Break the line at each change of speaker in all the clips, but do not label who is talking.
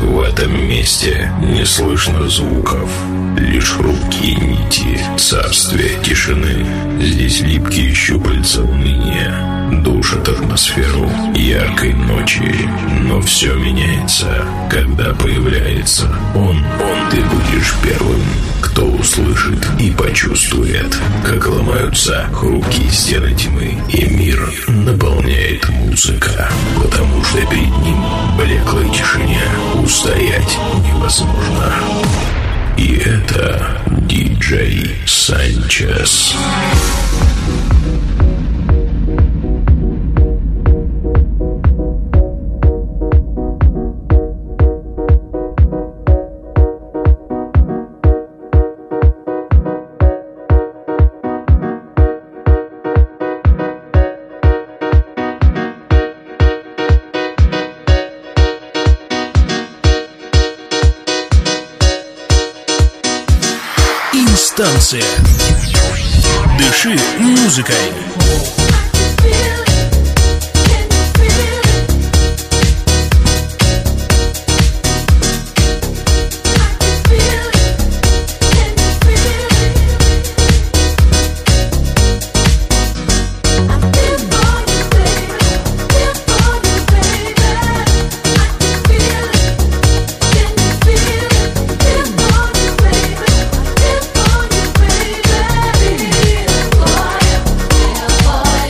В этом месте не слышно звуков, лишь хрупкие нити царствия тишины. Здесь липкие щупальца уныния душат атмосферу яркой ночи. Но все меняется, когда появляется он. Ты будешь первым, кто услышит и почувствует, как ломаются хрупкие стены тьмы, и мир наполняет музыка, потому что перед ним в блеклой тишине устоять невозможно. И это диджей Санчес.
Станция. Дыши музыкой.
Boy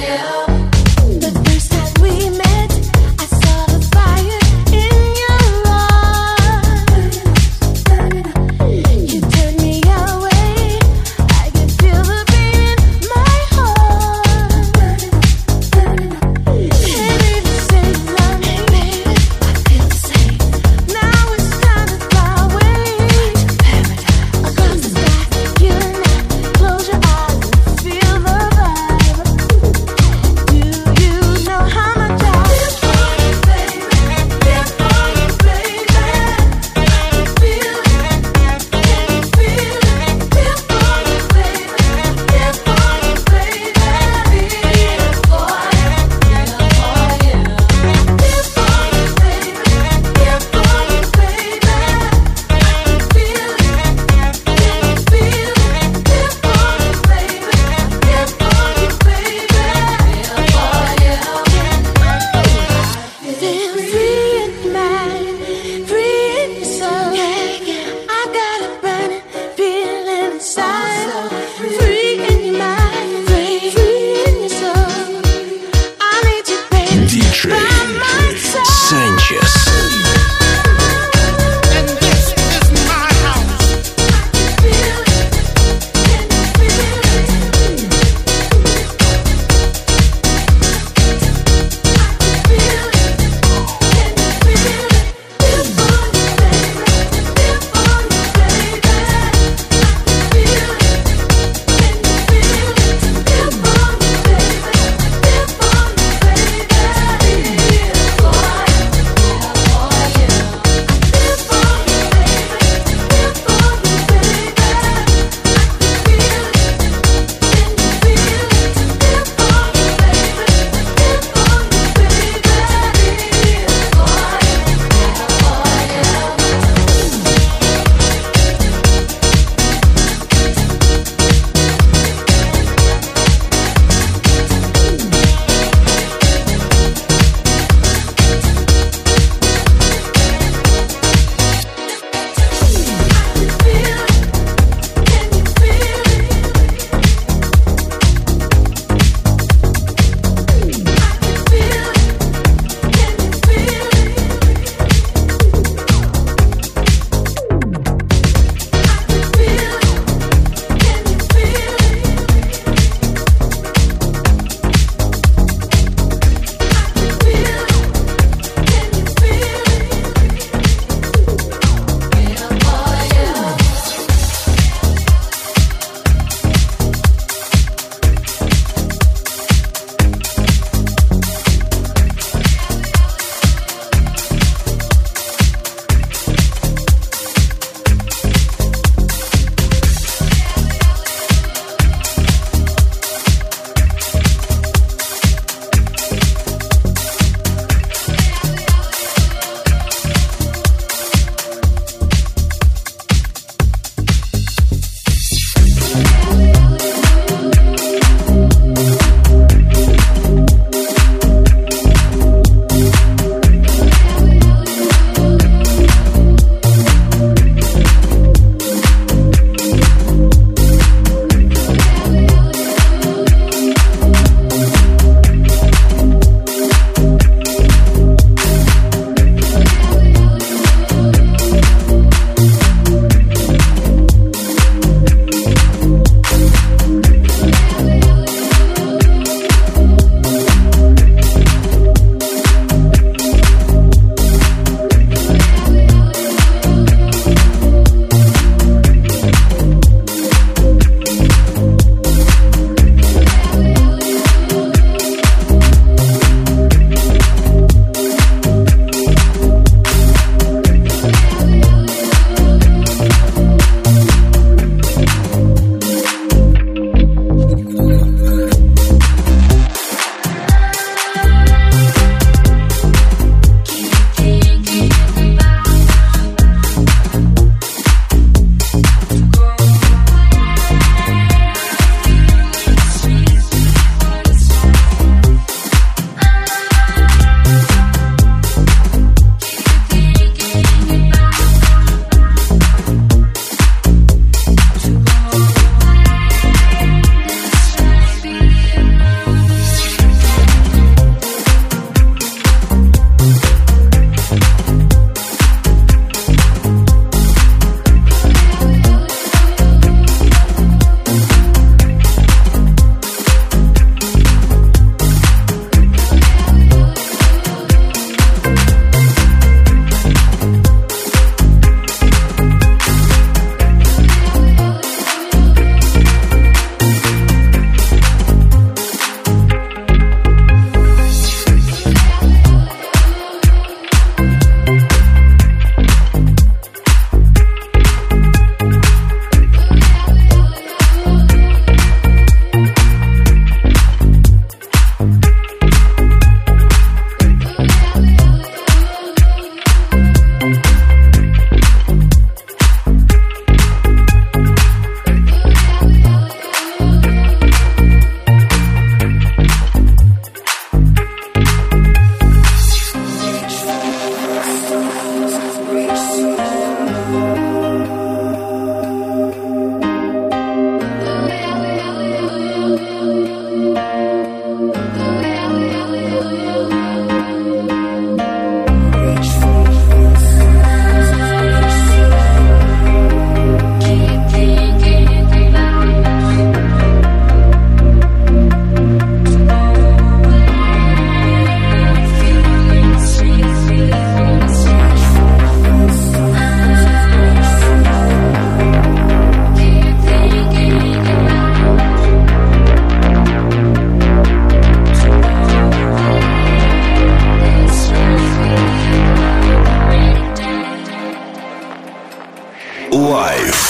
Live.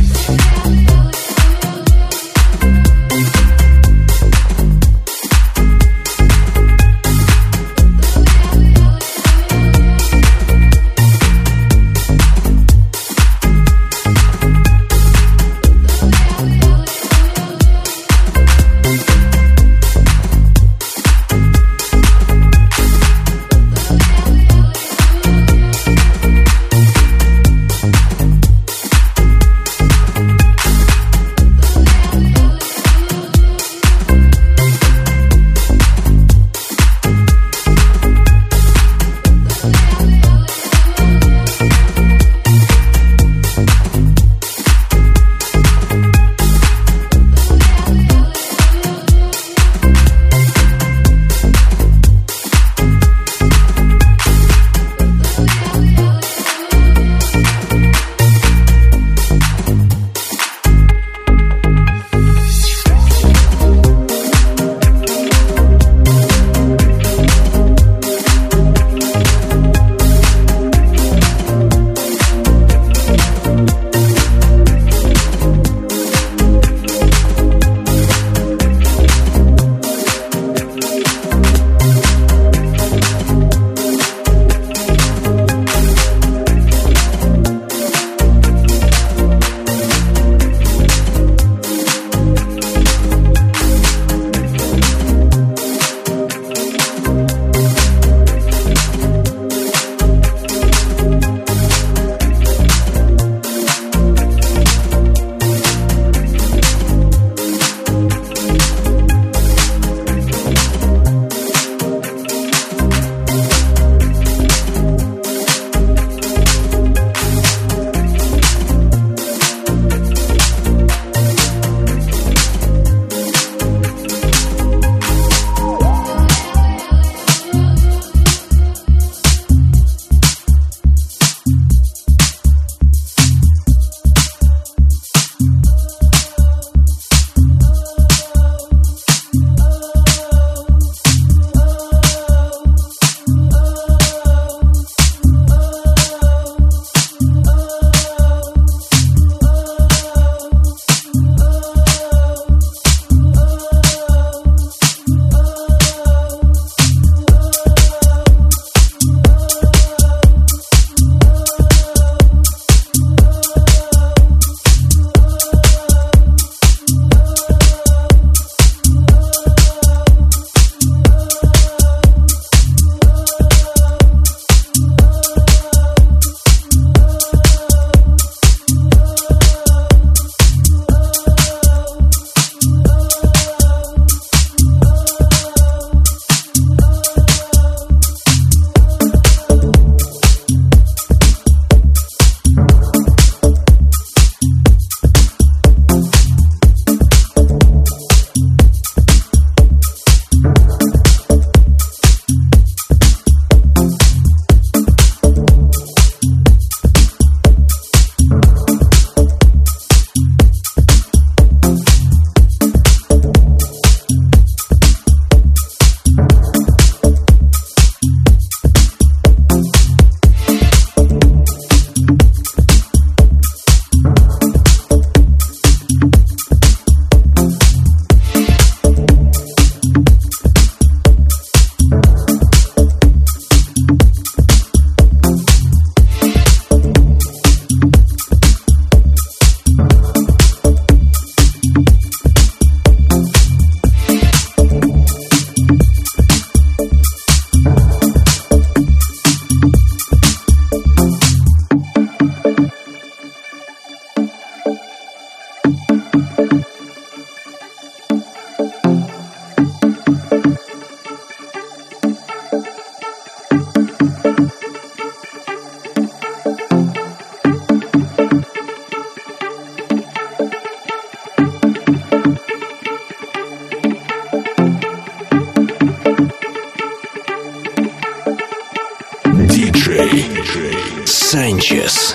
Sanchez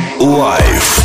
Live.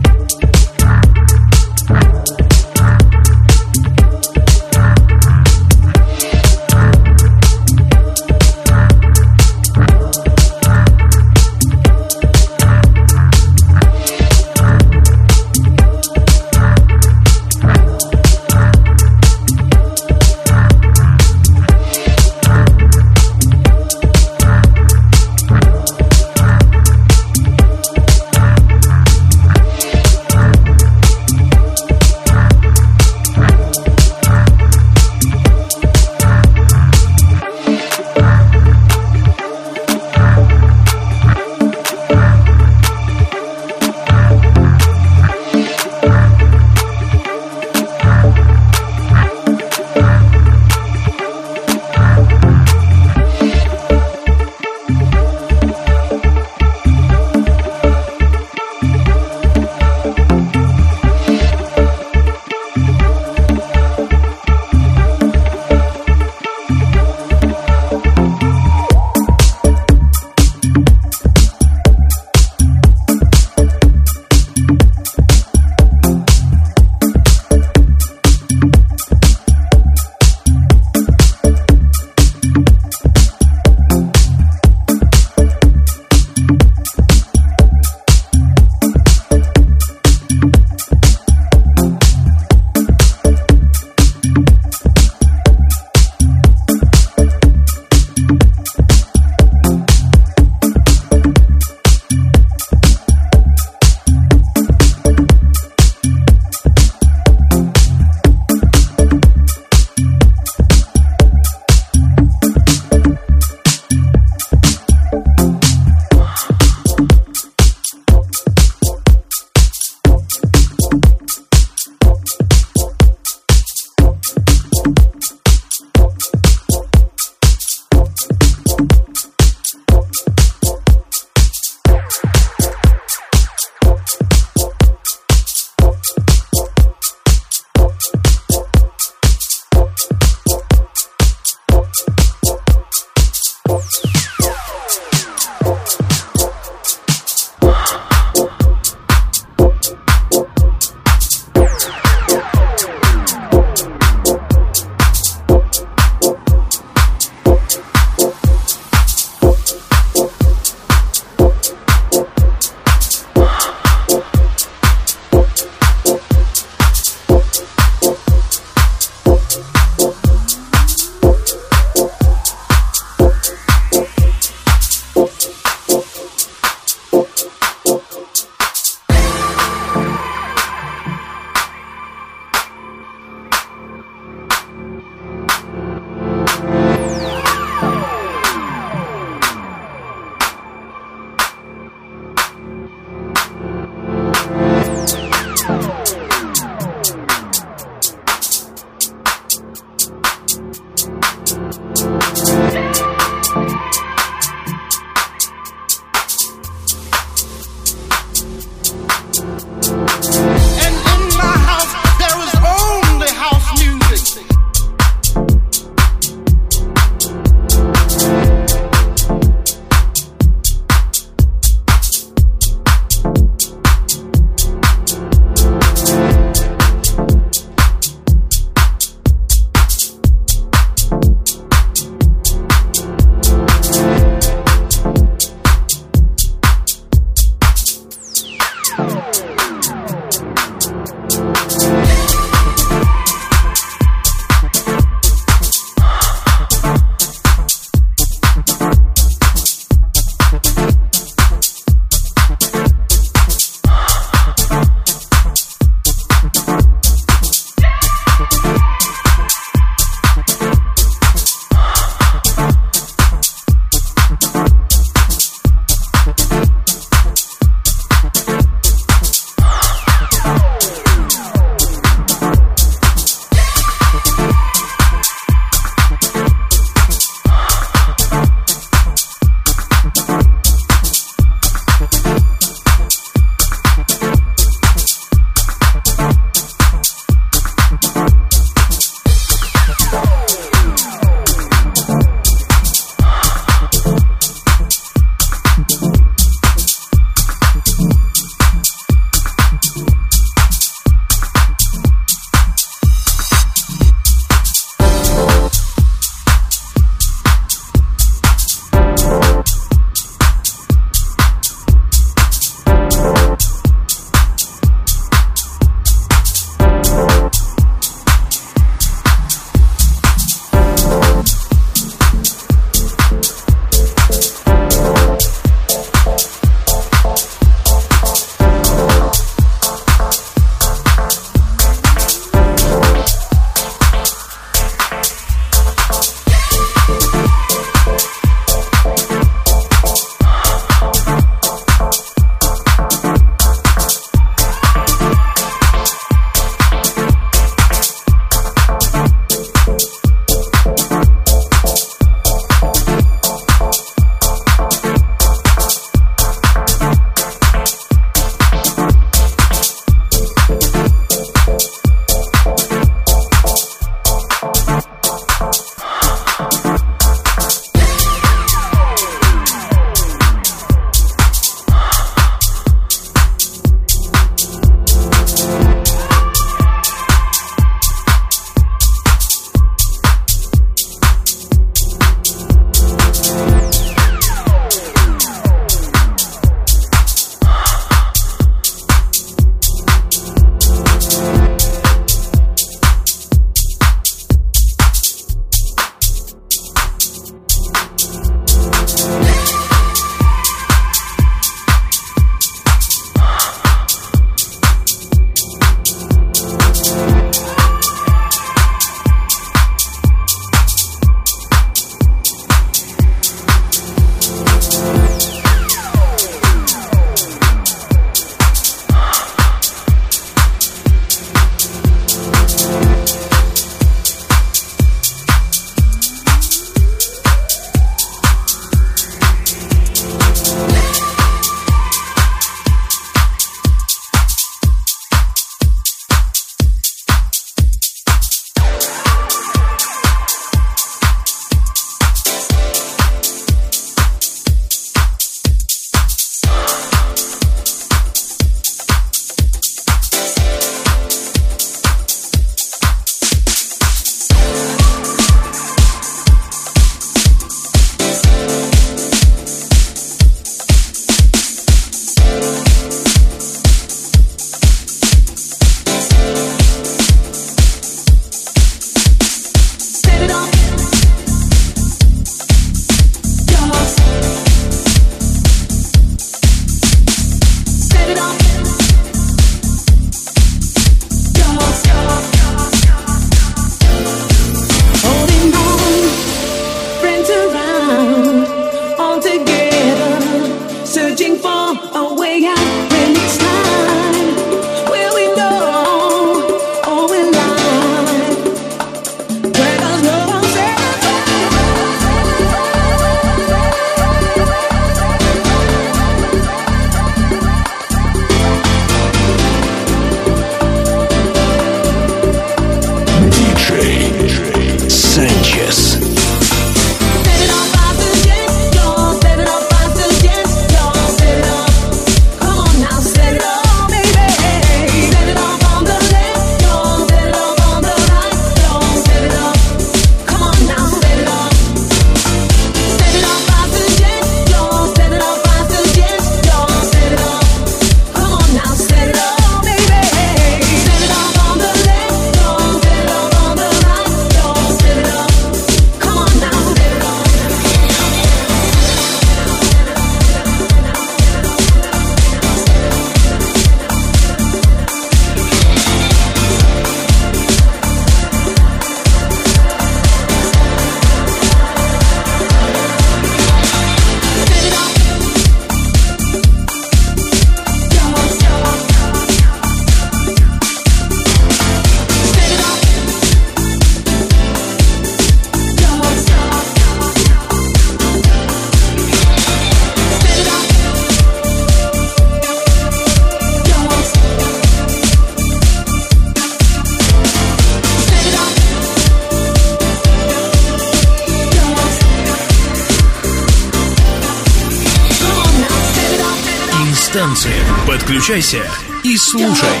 танцы. Подключайся и слушай.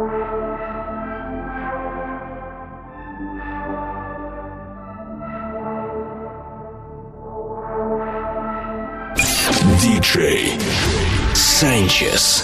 DJ Sanchez.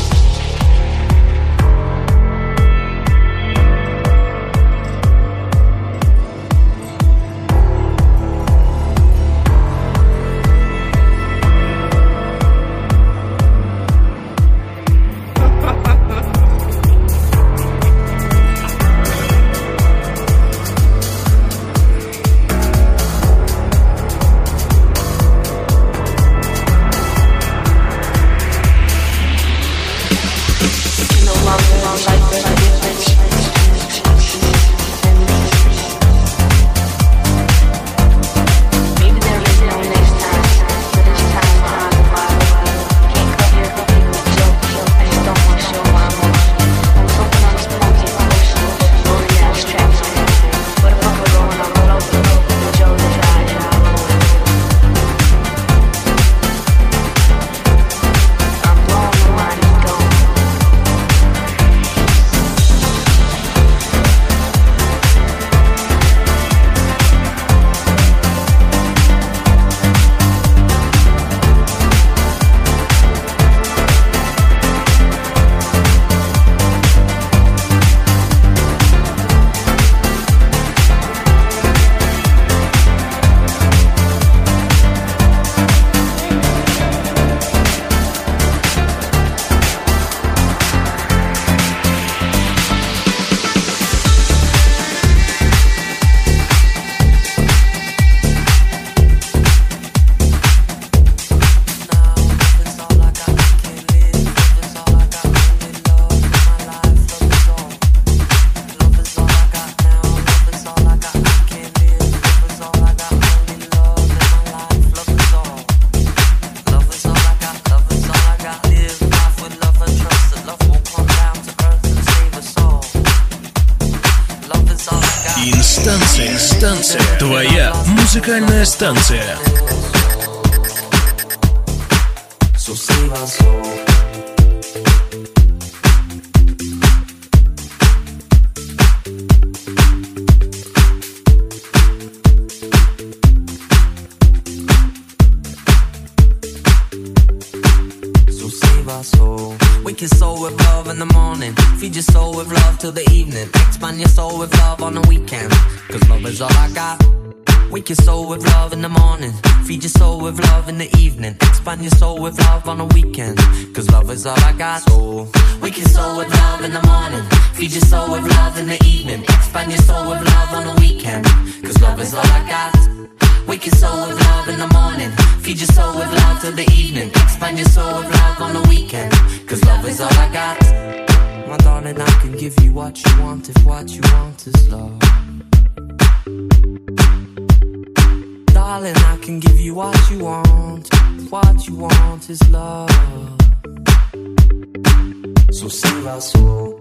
Станция. Твоя музыкальная станция.
Wake your soul with love in the morning. Feed your soul with love till the evening. Expand your soul with love on the weekend. Cause love is all I got. Wake your soul with love in the morning. Feed your soul with love in the evening. Expand your soul with love on the weekend. Cause love is all I got. So wake your soul with love in the morning. Feed your soul with love in the evening. Expand your soul with love on the weekend. Cause love is all I got. Wake your soul with love in the morning. Feed your soul with love till the evening. Expand your soul with love on the weekend. Cause love is all I got. My darling, I can give you what you want if what you want is love. Darling, I can give you what you want. What you want is love. So save our soul.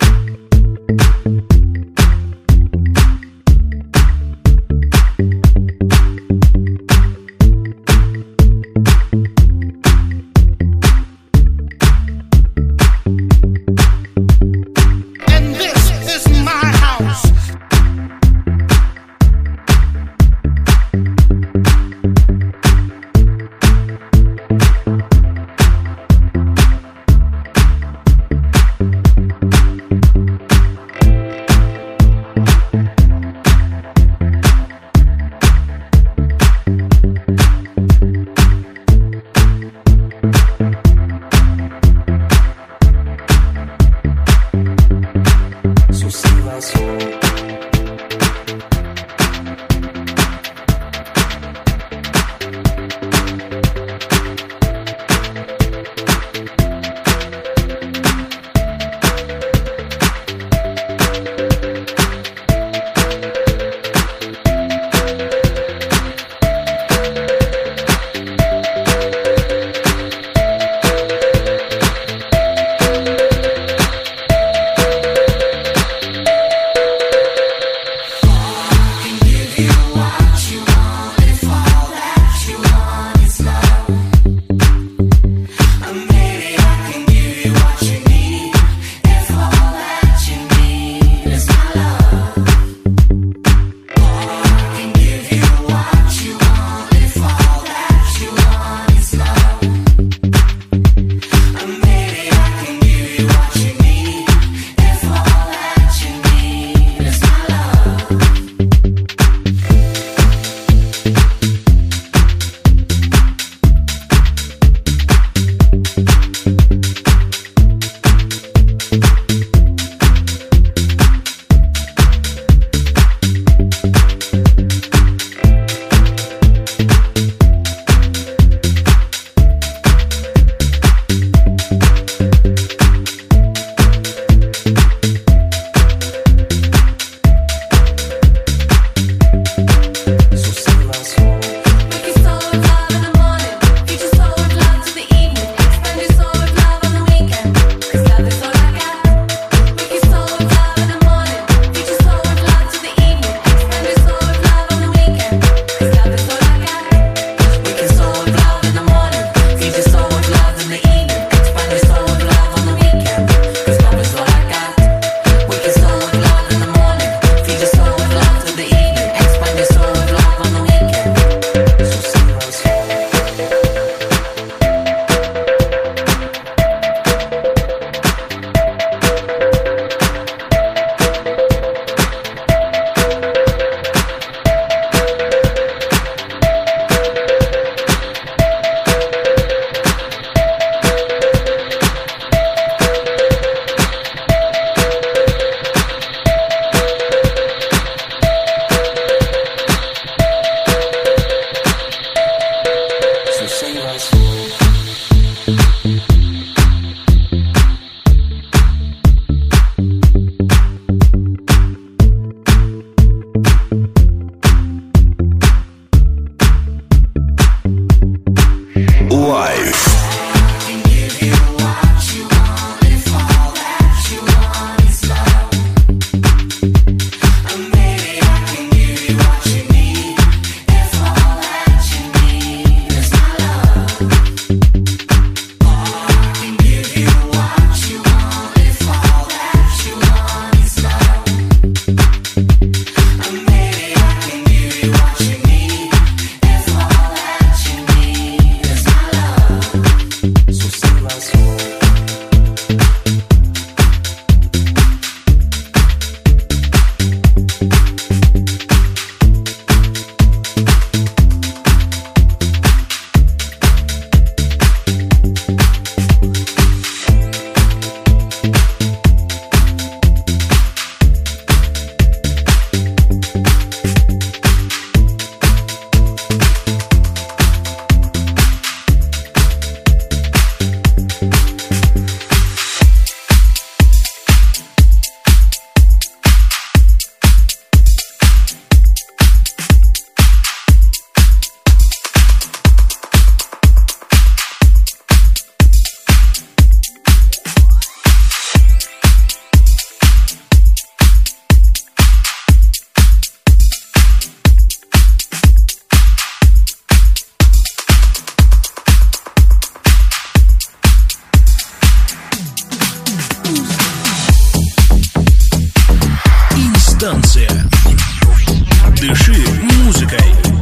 станция. Дыши музыкой.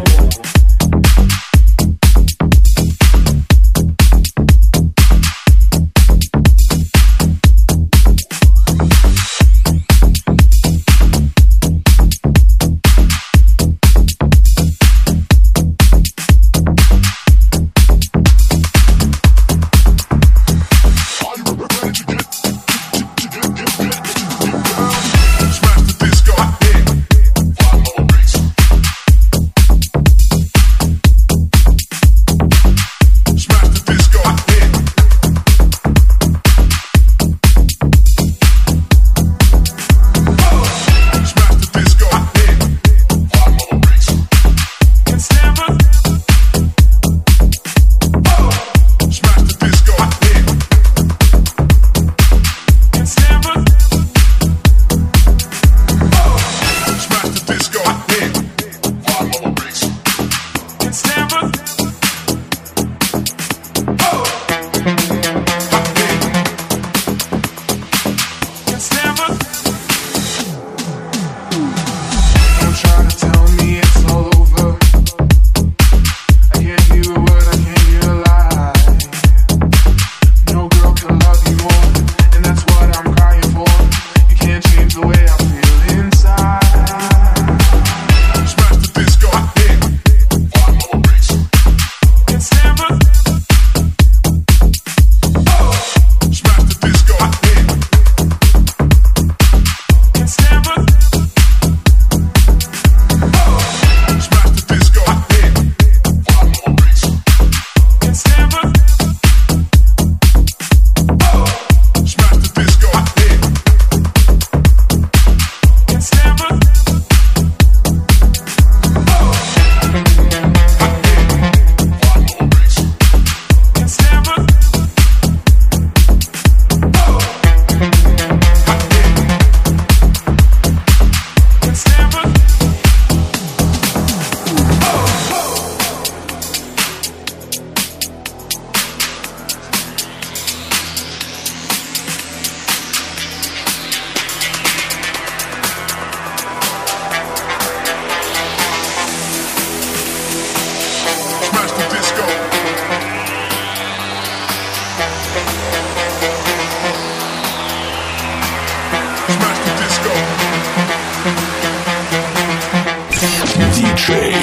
Диджей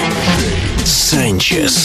Санчес.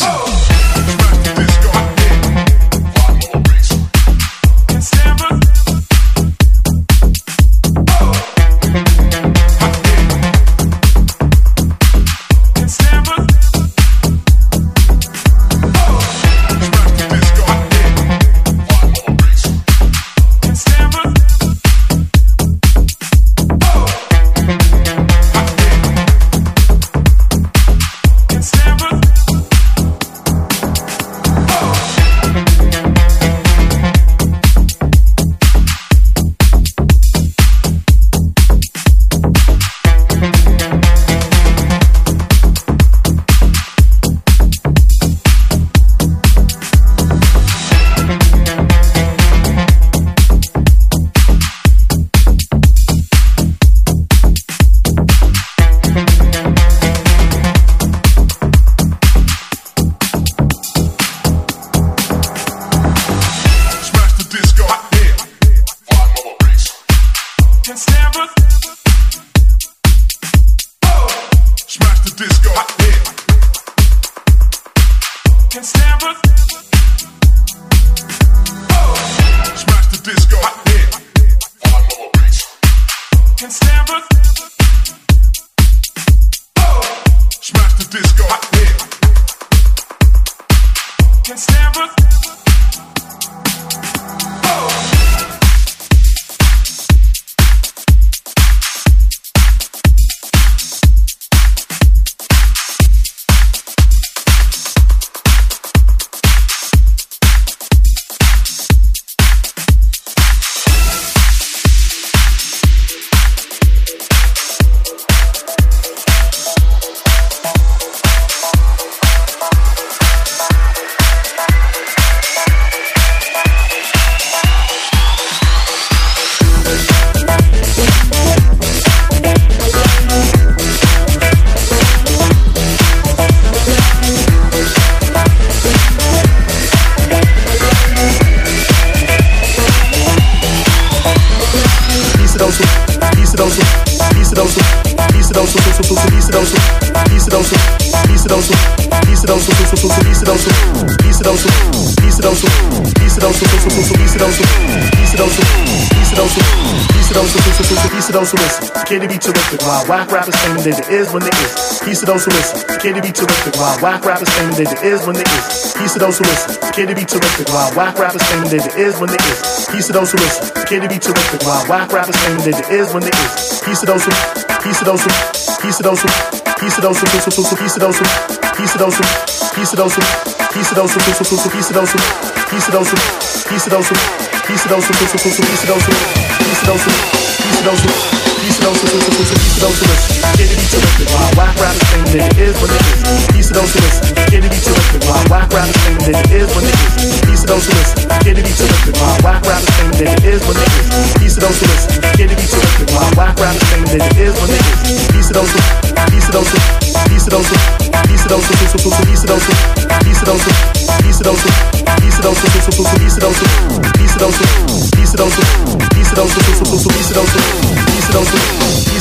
Can it be terrific while whack rappers claiming that it is when it is? Piece of those who listen. Can it be terrific while whack rappers claiming that it is when it is? Piece of those who listen. Can it be terrific while whack rappers claiming that it is when it is? Piece of those who listen. Can it be terrific while whack rappers claiming that it is when it is? Piece of those who, piece of those who, piece of those who, piece of those who, piece of those who, piece of those who, piece of those who, piece of those who, piece of those who, piece of those who, piece of those who, piece of those who, piece of those who, piece of those who, piece of those who, piece of those who, piece of those who, piece of those who. Piece of those who listen. Can it be terrific while whack rappers claiming that it is when it is? Piece of those who listen. Can it be terrific while whack rappers claiming that it is when it is? Piece of those who listen. Can it be terrific while whack rappers claiming that it is when it is? Piece of those who listen. Can it be terrific while whack rappers claiming that it is when it is? Piece of those who, piece of those who, piece of those who, piece of those who, piece of those who, piece of those who, piece of those who, piece of those who, piece of those who, piece of those who, piece of those who, piece of those who, piece of those who, piece of those who, piece of those who, piece of those who, piece of those who.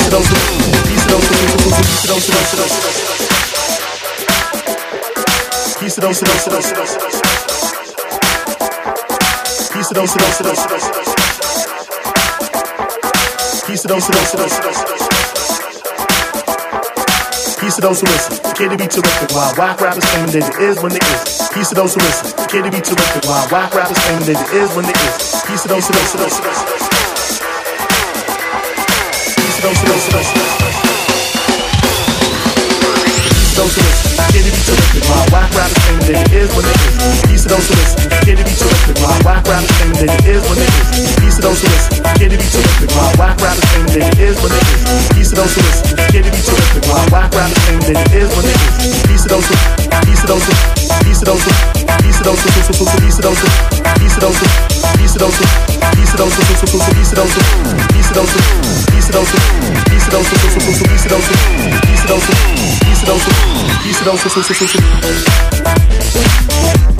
Piece of those who listen. Can it be terrific while whack rappers claiming that it is when it is? Piece of those who listen. Can it be terrific while whack rappers claiming that it is when it is? Piece of those who listen. Those who listen. Can it be terrific while whack rappers claiming that it is when it is? Piece of those who listen. Can it be terrific while whack rappers claiming that it is when it is? Piece of those who listen. Can it be terrific while whack rappers claiming that it is when it is? Piece of those who listen. Can it be terrific while whack rappers claiming that it is when it is? Piece of those who, piece of those who, piece of those who, piece of those who, piece of those who, piece of those who, piece of those who, piece of those who, piece of those who, piece of those who, piece of those who, piece of those who, piece of those who, piece of those who, piece of those who, piece of those who, piece of those who, piece of those who, piece of those who, piece of those who.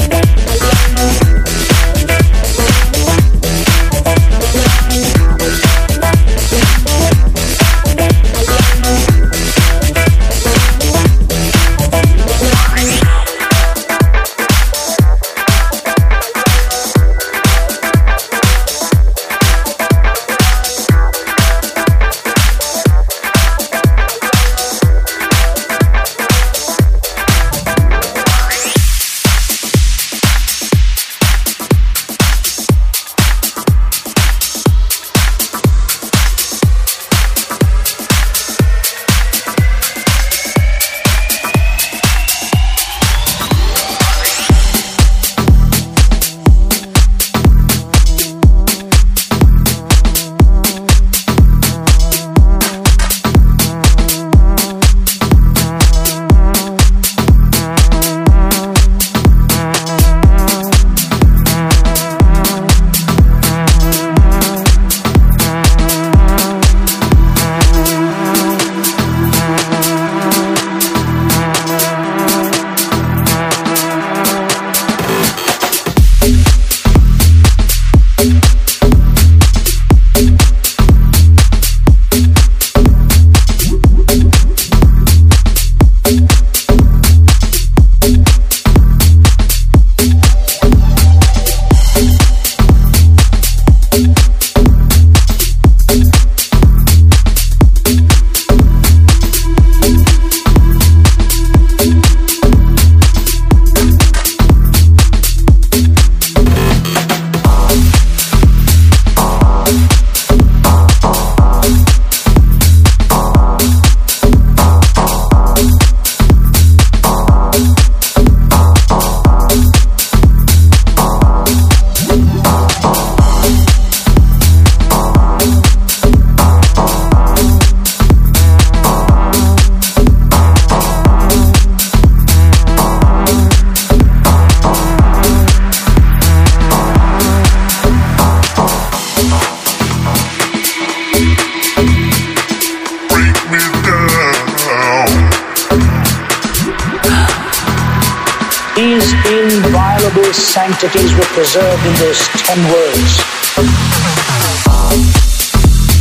These inviolable sanctities were preserved in those 10 words.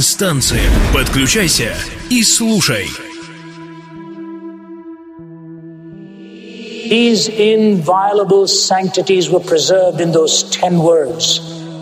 инстанциям. Подключайся и слушай.
These inviolable sanctities were preserved in those 10 words.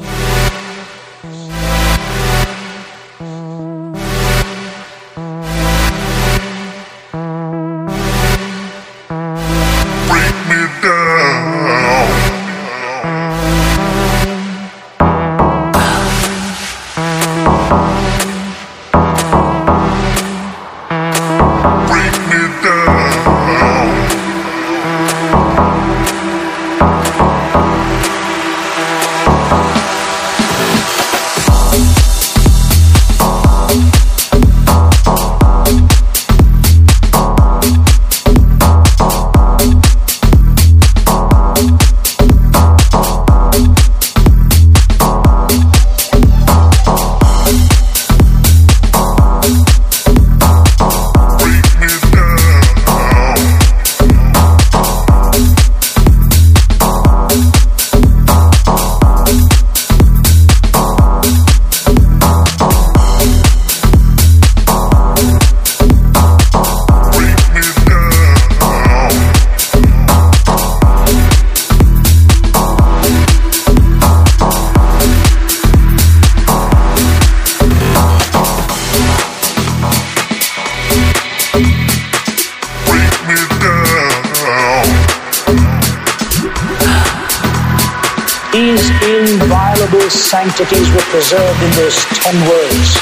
These inviolable sanctities were preserved in those 10 words.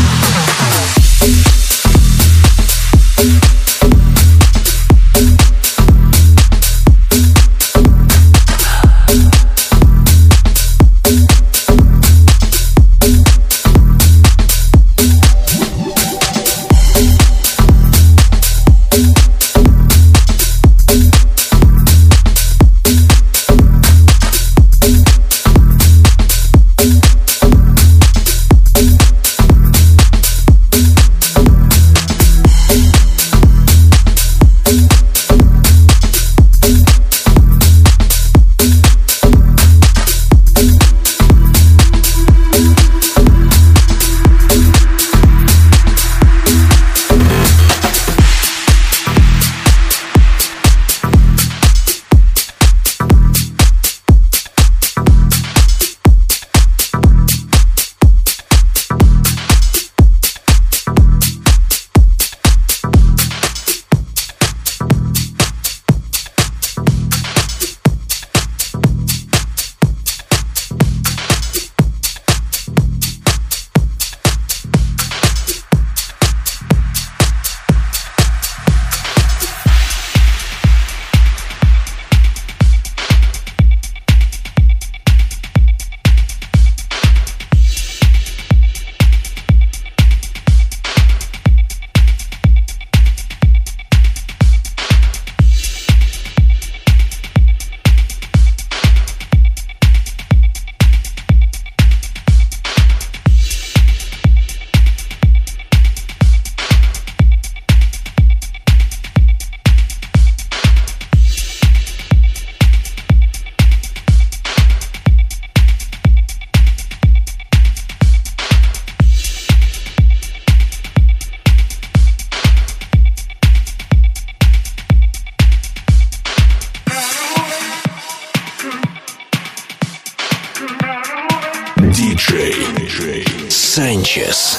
DJ Sanchez.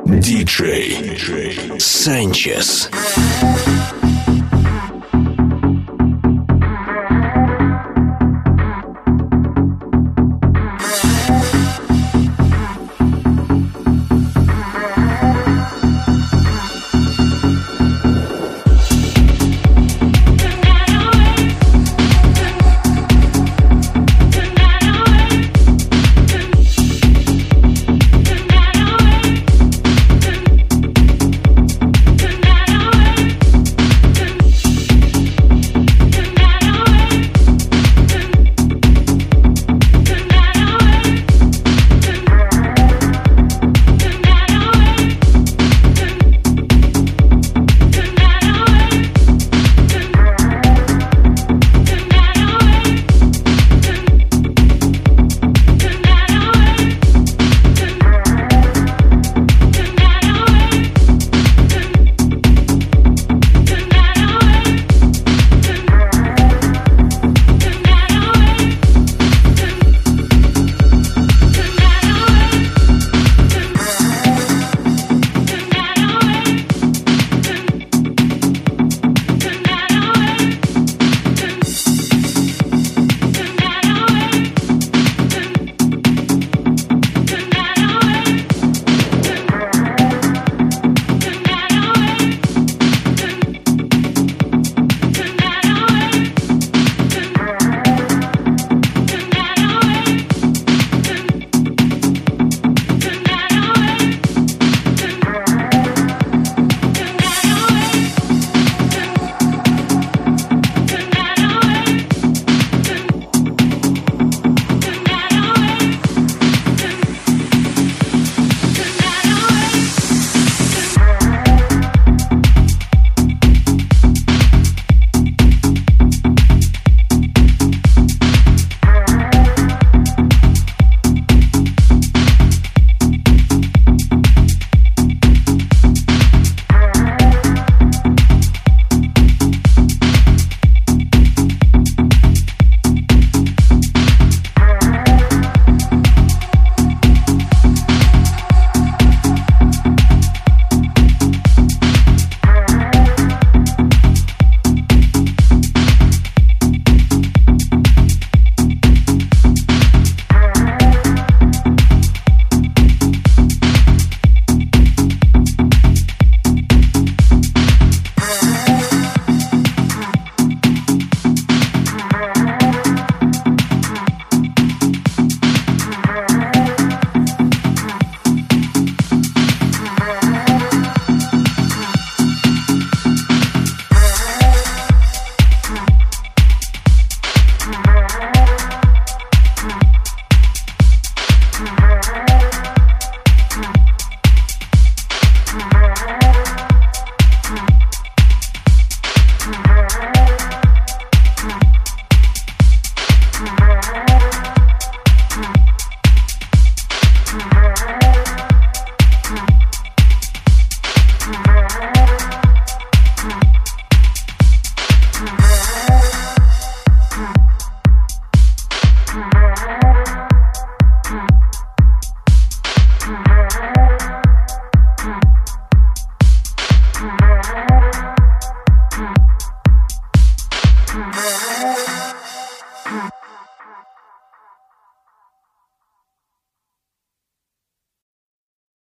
DJ Sanchez.